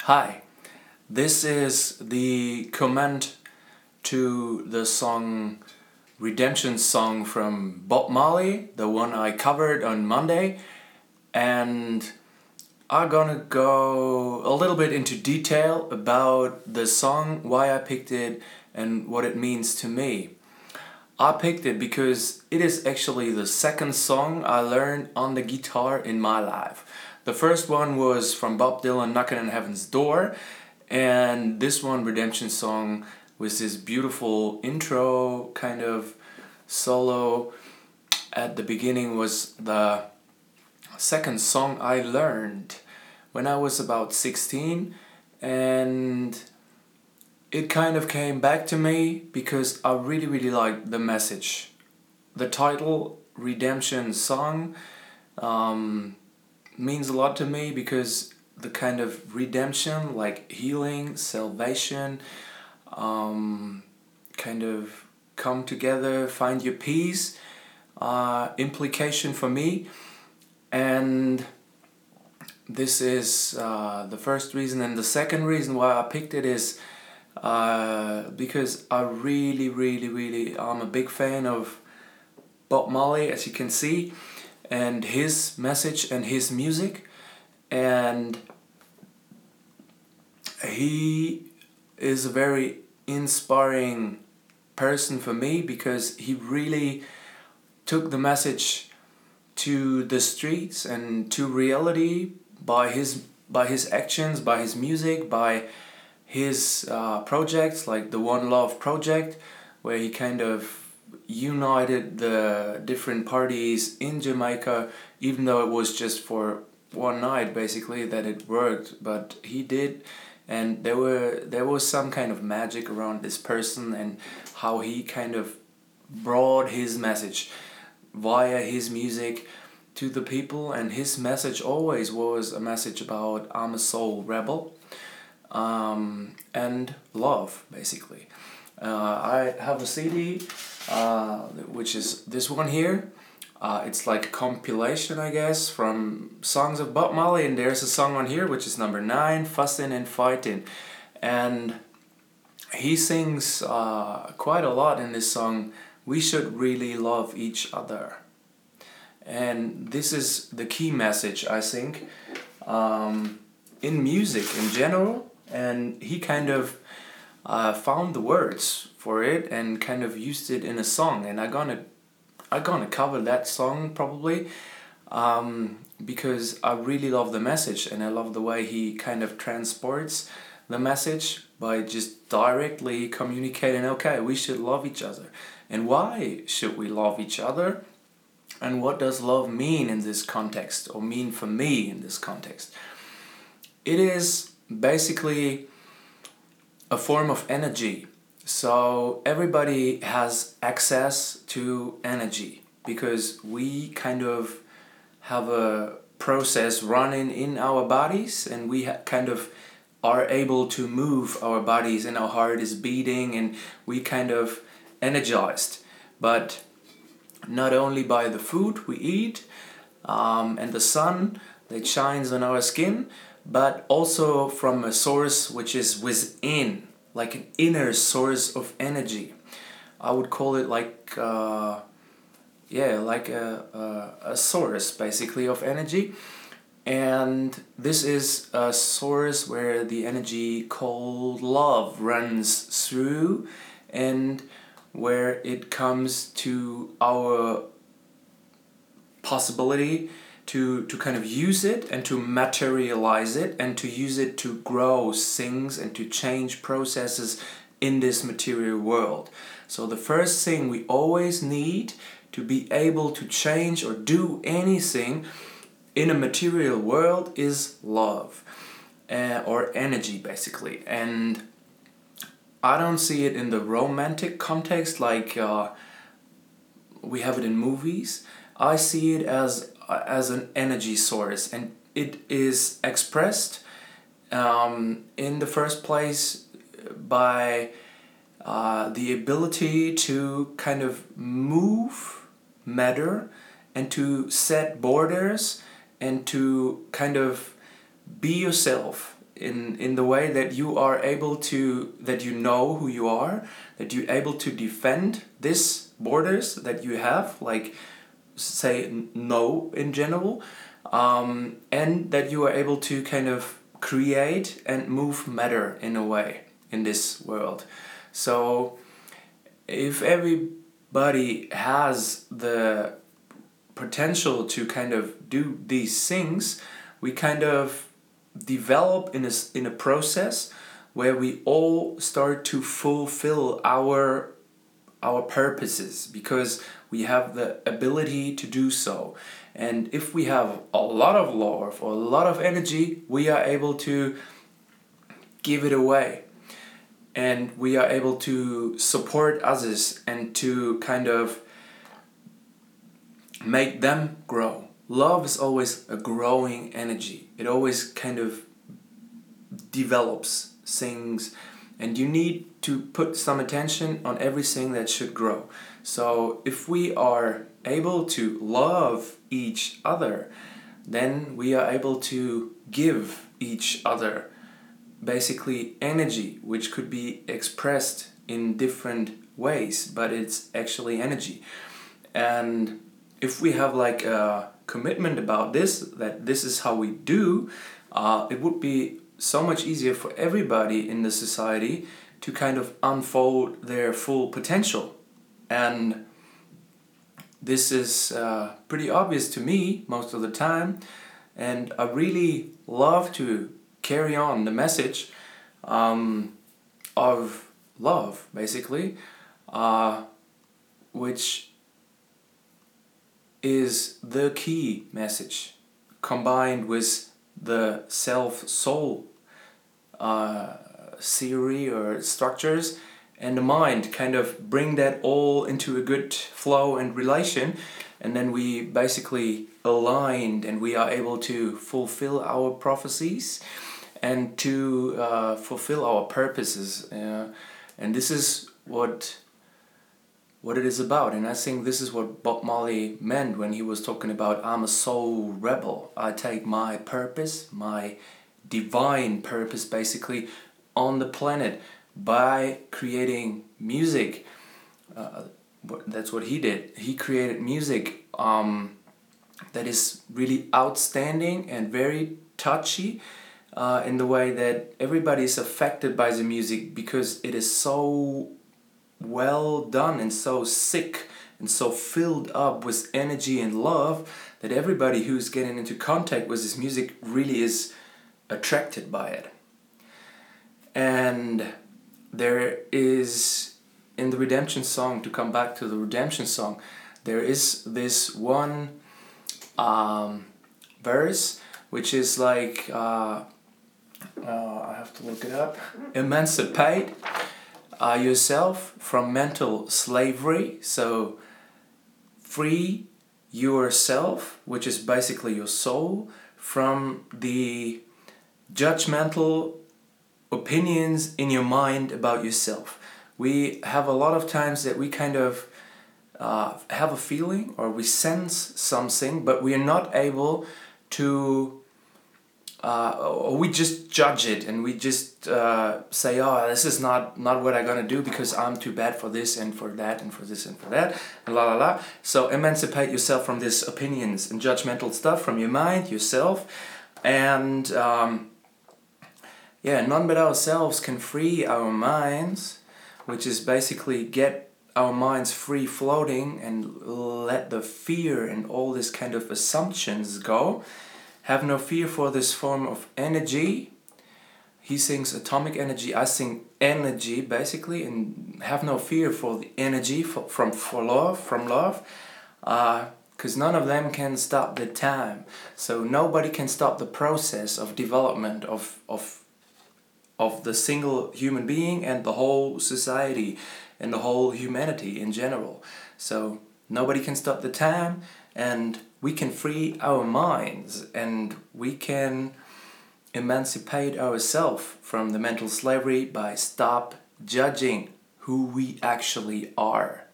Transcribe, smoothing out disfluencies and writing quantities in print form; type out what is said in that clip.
Hi, this is the comment to the song Redemption Song from Bob Marley, the one I covered on Monday, and I'm gonna go a little bit into detail about the song, why I picked it, and what it means to me. I picked it because it is actually the second song I learned on the guitar in my life. The first one was from Bob Dylan, Knockin' on Heaven's Door, and this one, Redemption Song, was this beautiful intro kind of solo. At the beginning was the second song I learned when I was about 16, and it kind of came back to me because I really liked the message. The title, Redemption Song, means a lot to me because the kind of redemption, like healing, salvation, kind of come together, find your peace, implication for me. And this is the first reason. And the second reason why I picked it is because I really I'm a big fan of Bob Marley, as you can see, and his message and his music, and he is a very inspiring person for me because he really took the message to the streets and to reality by his actions, by his music, by his projects like the One Love project, where he kind of united the different parties in Jamaica, even though it was just for one night basically that it worked, but he did. And there was some kind of magic around this person and how he kind of brought his message via his music to the people, and his message always was a message about I'm a soul rebel, and love, basically. I have a CD, which is this one here. It's like a compilation, I guess, from songs of Bob Marley, and there's a song on here which is number 9, Fussin' and Fightin'. And he sings quite a lot in this song, we should really love each other. And this is the key message, I think, in music in general. And he kind of found the words for it and kind of used it in a song. And I'm gonna cover that song probably, because I really love the message and I love the way he kind of transports the message by just directly communicating, okay, we should love each other. And why should we love each other? And what does love mean in this context, or mean for me in this context? It is basically a form of energy. So everybody has access to energy because we kind of have a process running in our bodies, and we kind of are able to move our bodies, and our heart is beating and we kind of energized. But not only by the food we eat, and the sun that shines on our skin, but also from a source which is within, like an inner source of energy. I would call it like like a source basically of energy. And this is a source where the energy called love runs through, and where it comes to our possibility to kind of use it and to materialize it and to use it to grow things and to change processes in this material world. So the first thing we always need to be able to change or do anything in a material world is love, or energy basically. And I don't see it in the romantic context like we have it in movies. I see it as an energy source, and it is expressed in the first place by the ability to kind of move matter and to set borders and to kind of be yourself in the way that you are able to, that you know who you are, that you're able to defend these borders that you have, like say no in general, and that you are able to kind of create and move matter in a way in this world. So if everybody has the potential to kind of do these things, we kind of develop in a process where we all start to fulfill our purposes, because we have the ability to do so. And if we have a lot of love or a lot of energy, we are able to give it away, and we are able to support others and to kind of make them grow. Love is always a growing energy. It always kind of develops things, and you need to put some attention on everything that should grow. So if we are able to love each other, then we are able to give each other basically energy, which could be expressed in different ways, but it's actually energy. And if we have like a commitment about this, that this is how we do, it would be so much easier for everybody in the society to kind of unfold their full potential. And this is pretty obvious to me most of the time, and I really love to carry on the message of love, basically, which is the key message, combined with the self-soul theory or structures, and the mind kind of bring that all into a good flow and relation, and then we basically aligned and we are able to fulfill our prophecies and to fulfill our purposes. And this is what it is about. And I think this is what Bob Marley meant when he was talking about, I'm a soul rebel. I take my purpose, my divine purpose basically, on the planet by creating music. That's what he did. He created music that is really outstanding and very touchy, in the way that everybody is affected by the music, because it is so well done and so sick and so filled up with energy and love that everybody who's getting into contact with this music really is attracted by it. And there is, in the Redemption song, to come back to the Redemption song, there is this one verse which is like, I have to look it up, emancipate yourself from mental slavery. So free yourself, which is basically your soul, from the judgmental opinions in your mind about yourself. We have a lot of times that we kind of have a feeling or we sense something, but we are not able to, or we just judge it and we just say, oh, this is not what I'm gonna do because I'm too bad for this and for that and for this and for that, and la la la. So emancipate yourself from these opinions and judgmental stuff from your mind, yourself, and none but ourselves can free our minds, which is basically get our minds free floating and let the fear and all this kind of assumptions go. Have no fear for this form of energy. He sings atomic energy, I sing energy basically, and have no fear for the energy from love, because none of them can stop the time. So nobody can stop the process of development of the single human being and the whole society and the whole humanity in general. So nobody can stop the time, and we can free our minds and we can emancipate ourselves from the mental slavery by stop judging who we actually are.